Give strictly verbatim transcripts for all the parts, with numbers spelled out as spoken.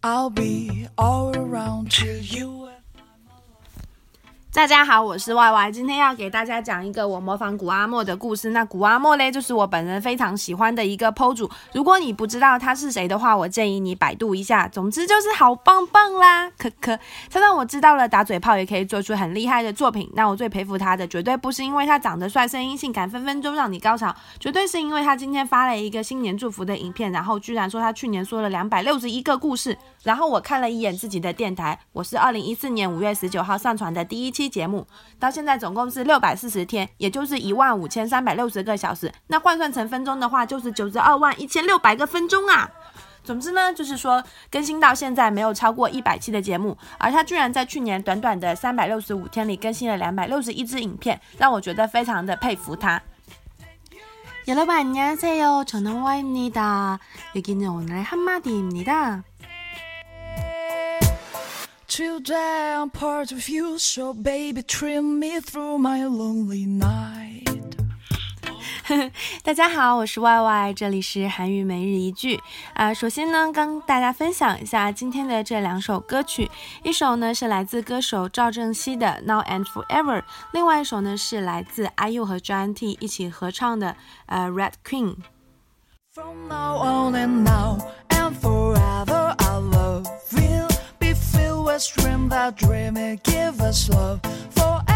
I'll be all around till you。 大家好，我是 Y Y， 今天要给大家讲一个我模仿古阿莫的故事。那古阿莫呢，就是我本人非常喜欢的一个 P O 主。如果你不知道他是谁的话，我建议你百度一下。总之就是好棒棒啦，可可。他让我知道了打嘴炮也可以做出很厉害的作品。那我最佩服他的，绝对不是因为他长得帅、声音性感、分分钟让你高潮，绝对是因为他今天发了一个新年祝福的影片，然后居然说他去年说了两百六十一个故事。然后我看了一眼自己的电台，我是二零一四年五月十九号上传的第一期节目，到现在总共是六百四十天，也就是一万五千三百六十个小时。那换算成分钟的话，就是九十二万一千六百个分钟啊！总之呢，就是说更新到现在没有超过一百期的节目，而他居然在去年短短的三百六十五天里更新了两百六十一支影片，让我觉得非常的佩服他。여러분 안녕하세요. 저는 Y입니다. 여기는 오늘의 한마디입니다. Today I'm part of you, so baby trim me through my lonely night。 大家好，我是 Y Y， 这里是韩语每日一句啊、呃。首先呢，跟大家分享一下今天的这两首歌曲，一首呢是来自歌手赵正熙的 Now and Forever， 另外一首呢是来自 I U 和 J Y T 一起合唱的呃 Red Queen。From now on and now and forever I love you, be filled with dream that dream it give us love forever。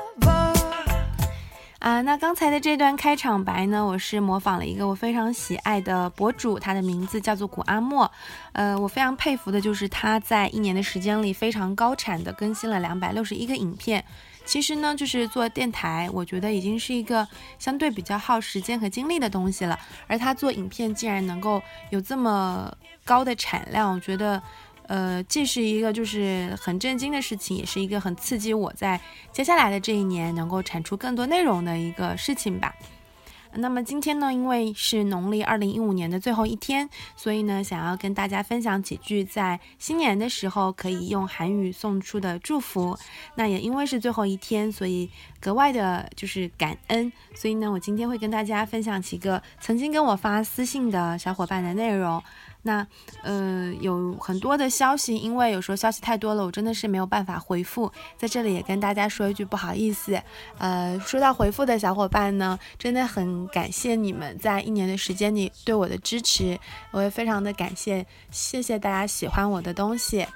啊，那刚才的这段开场白呢，我是模仿了一个我非常喜爱的博主，他的名字叫做古阿莫。呃，我非常佩服的就是他在一年的时间里非常高产的更新了两百六十一个影片。其实呢，就是做电台，我觉得已经是一个相对比较耗时间和精力的东西了，而他做影片竟然能够有这么高的产量，我觉得呃，既是一个就是很震惊的事情，也是一个很刺激我在接下来的这一年能够产出更多内容的一个事情吧。那么今天呢，因为是农历二零一五年的最后一天，所以呢，想要跟大家分享几句在新年的时候可以用韩语送出的祝福。那也因为是最后一天，所以格外的就是感恩。所以呢，我今天会跟大家分享几个曾经跟我发私信的小伙伴的内容。那呃有很多的消息，因为有时候消息太多了，我真的是没有办法回复，在这里也跟大家说一句不好意思。呃说到回复的小伙伴呢，真的很感谢你们在一年的时间里对我的支持，我也非常的感谢，谢谢大家喜欢我的东西。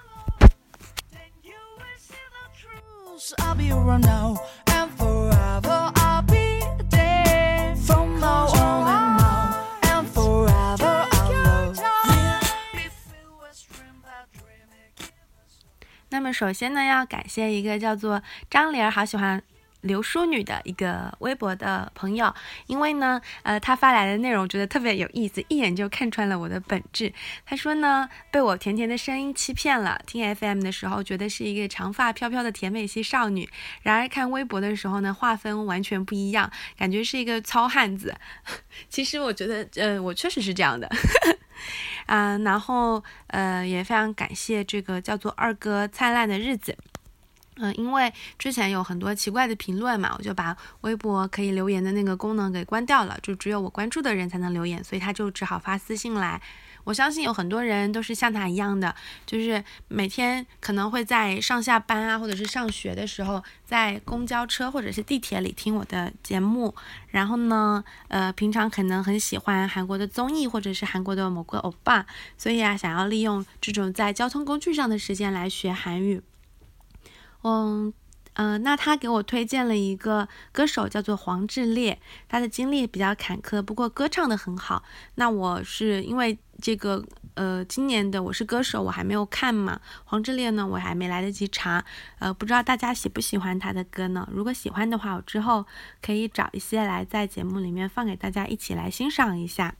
那么首先呢，要感谢一个叫做张玲儿好喜欢刘淑女的一个微博的朋友，因为呢，呃，他发来的内容觉得特别有意思，一眼就看穿了我的本质。他说呢，被我甜甜的声音欺骗了，听 F M 的时候觉得是一个长发飘飘的甜美系少女，然而看微博的时候呢，画风完全不一样，感觉是一个糙汉子。其实我觉得，呃，我确实是这样的。啊、呃，然后呃，也非常感谢这个叫做二哥灿烂的日子。嗯、呃，因为之前有很多奇怪的评论嘛，我就把微博可以留言的那个功能给关掉了，就只有我关注的人才能留言，所以他就只好发私信来。我相信有很多人都是像他一样的，就是每天可能会在上下班啊，或者是上学的时候，在公交车或者是地铁里听我的节目。然后呢，呃，平常可能很喜欢韩国的综艺，或者是韩国的某个欧巴，所以啊，想要利用这种在交通工具上的时间来学韩语。嗯。呃，那他给我推荐了一个歌手叫做黄致列，他的经历比较坎坷，不过歌唱得很好。那我是因为这个呃今年的我是歌手我还没有看嘛，黄致列呢我还没来得及查，呃不知道大家喜不喜欢他的歌呢？如果喜欢的话，我之后可以找一些来在节目里面放给大家一起来欣赏一下。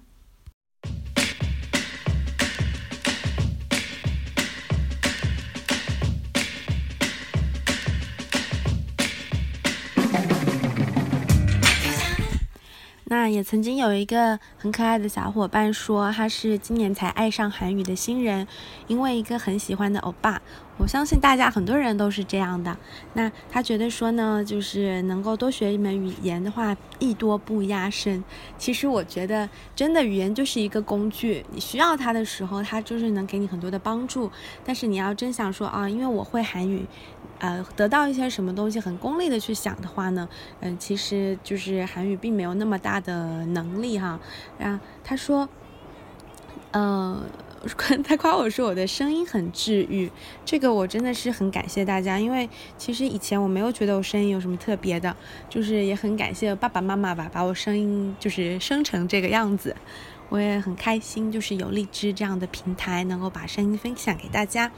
那也曾经有一个很可爱的小伙伴说他是今年才爱上韩语的新人，因为一个很喜欢的欧巴， 我相信大家很多人都是这样的。那他觉得说呢，就是能够多学一门语言的话，艺多不压身。其实我觉得真的语言就是一个工具，你需要它的时候，它就是能给你很多的帮助。但是你要真想说啊，因为我会韩语，呃，得到一些什么东西很功利的去想的话呢，嗯、呃，其实就是韩语并没有那么大的能力哈。然后他说，呃。他夸我说我的声音很治愈，这个我真的是很感谢大家，因为其实以前我没有觉得我声音有什么特别的，就是也很感谢爸爸妈妈吧，把我声音就是生成这个样子，我也很开心，就是有荔枝这样的平台能够把声音分享给大家。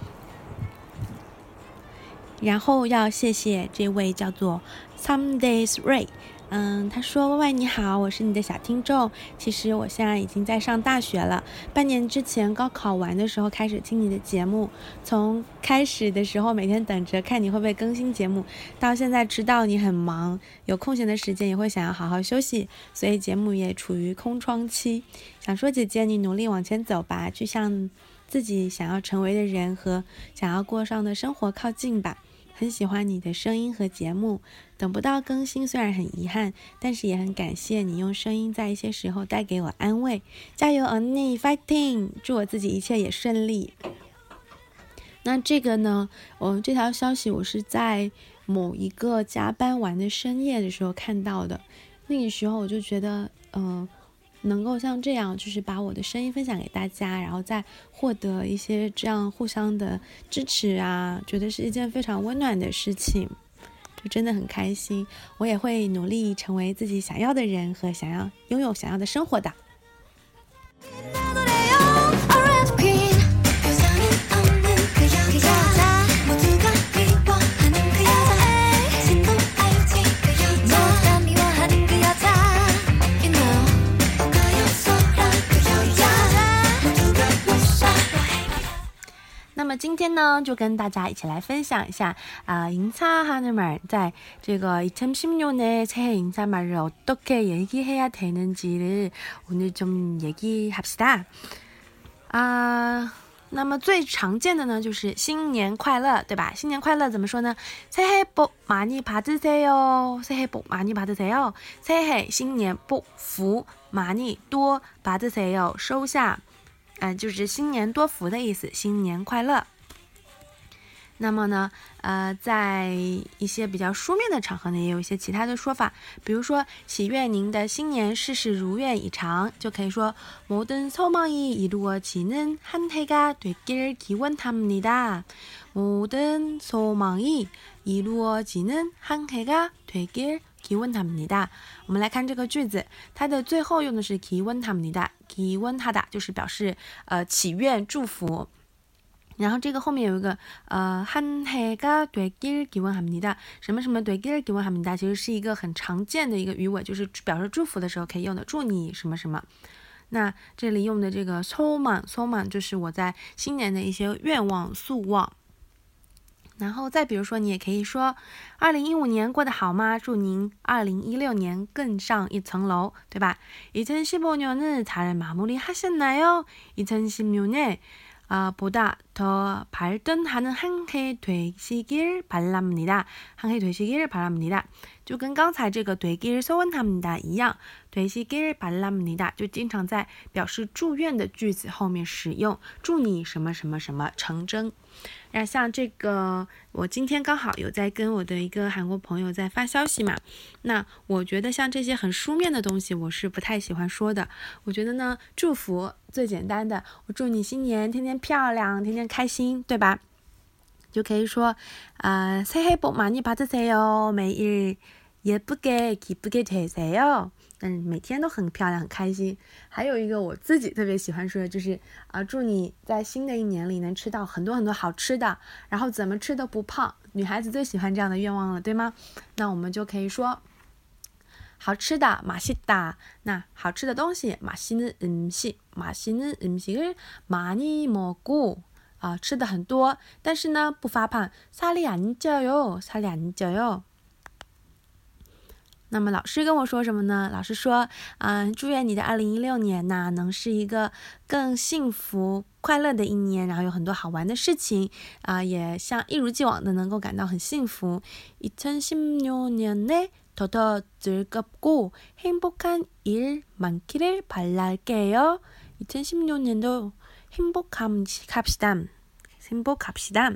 然后要谢谢这位叫做 Some Days Ray，嗯，他说：“歪歪你好，我是你的小听众。其实我现在已经在上大学了，半年之前高考完的时候开始听你的节目，从开始的时候每天等着看你会不会更新节目，到现在知道你很忙，有空闲的时间也会想要好好休息，所以节目也处于空窗期。想说姐姐，你努力往前走吧，去向自己想要成为的人和想要过上的生活靠近吧。很喜欢你的声音和节目，等不到更新虽然很遗憾，但是也很感谢你用声音在一些时候带给我安慰。加油언니 ，fighting！ 祝我自己一切也顺利。那这个呢，我这条消息我是在某一个加班完的深夜的时候看到的，那个时候我就觉得，嗯、呃。能够像这样，就是把我的声音分享给大家，然后再获得一些这样互相的支持啊，觉得是一件非常温暖的事情，就真的很开心。我也会努力成为自己想要的人和想要拥有想要的生活的。那么今天呢，就跟大家一起来分享一下啊，인사하는 말，在这个이천십 년의 새해 인사말을 어떻게 얘기해야 되는지를 오늘 좀 얘기합시다。啊，那么最常见的呢，就是新年快乐，对吧？新年快乐怎么说呢？새해 복 많이 받으세요，새해 복 많이 받으세요，새해新年복福많이多받으세요收下。嗯、呃，就是新年多福的意思，新年快乐。那么呢，呃，在一些比较书面的场合呢，也有一些其他的说法，比如说祈愿您的新年事事如愿以偿，就可以说모든 소망이 이루어지는 한 해가 되길 기원합니다。모든 소망이 이루어지는 한 해가 되길 기원합니다。我们来看这个句子，它的最后用的是기원합니다，기원하다就是表示呃祈愿祝福。然后这个后面有一个呃한 해가 되길 기원합니다，什么什么되길 기원합니다，其实是一个很常见的一个语尾，就是表示祝福的时候可以用的，祝你什么什么。那这里用的这个소망 소망就是我在新年的一些愿望夙望。然后再比如说，你也可以说二零一五年过得好吗？祝您二零一六年更上一层楼，对吧？이천십오 년은 잘 마무리하셨나요? 이천십육 년 아, 보다 더 발전하는 한 해 되시길 바랍니다. 한 해 되시길 바랍니다. 就跟刚才这个되길 소원합니다一样，되시길 바랍니다就经常在表示祝愿的句子后面使用，祝你什么什么什么成真。那像这个，我今天刚好有在跟我的一个韩国朋友在发消息嘛，那我觉得像这些很书面的东西，我是不太喜欢说的。我觉得呢，祝福最简单的，我祝你新年天天漂亮，天天开心，对吧？就可以说，呃，새해 복 많이 받으세요，每日예쁘게 기쁘게 되세요。嗯，每天都很漂亮，很开心。还有一个我自己特别喜欢说的就是，啊、呃，祝你在新的一年里能吃到很多很多好吃的，然后怎么吃都不胖。女孩子最喜欢这样的愿望了，对吗？那我们就可以说，好吃的맛있다，那好吃的东西맛있는 음식，맛있는 음식을 많이 먹고。啊、呃，吃的很多，但是呢不发胖，살이 안 쪄요，살이 안 쪄요。 那么老师跟我说什么呢？老师说，嗯、呃，祝愿你的二零一六年呢，能是一个更幸福、快乐的一年，然后有很多好玩的事情，啊、呃，也像一如既往的能够感到很幸福。이천십육 년에 더 더 즐겁고 행복한 일 많기를 바랄게요. 이천십육 년도 행복합시다. 행복합시다.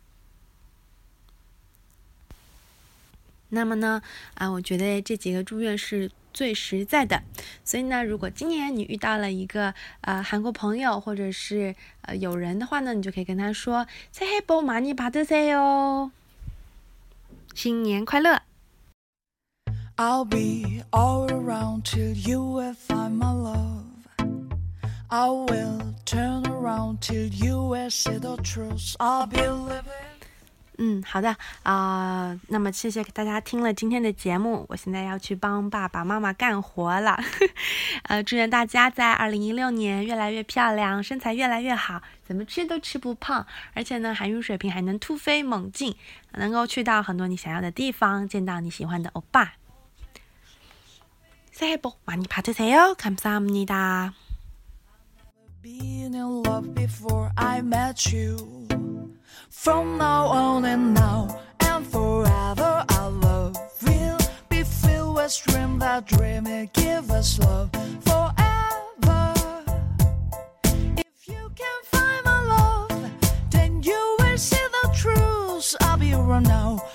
那么呢，啊，我觉得这几个祝愿是最实在的。所以呢，如果今年你遇到了一个呃韩国朋友或者是呃友人的话呢，你就可以跟他说새해 복 많이 받으세요，新年快乐。 I'll be all around till you will find my love. I will turn around till you will see the truth. I'll be living. 嗯，好的啊、呃，那么谢谢大家听了今天的节目，我现在要去帮爸爸妈妈干活了。呃，祝愿大家在二零一六年越来越漂亮，身材越来越好，怎么吃都吃不胖，而且呢，韩语水平还能突飞猛进，能够去到很多你想要的地方，见到你喜欢的欧巴。새해 복 많이 받으세요. 감사합니다. Been in love before I met you. From now on and now and forever, our love will be filled with dreams that dream it give us love forever. If you can find my love, then you will see the truth. I'll be around now